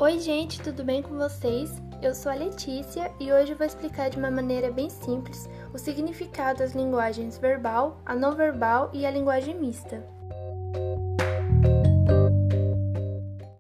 Oi gente, tudo bem com vocês? Eu sou a Letícia e hoje eu vou explicar de uma maneira bem simples o significado das linguagens verbal, a não verbal e a linguagem mista.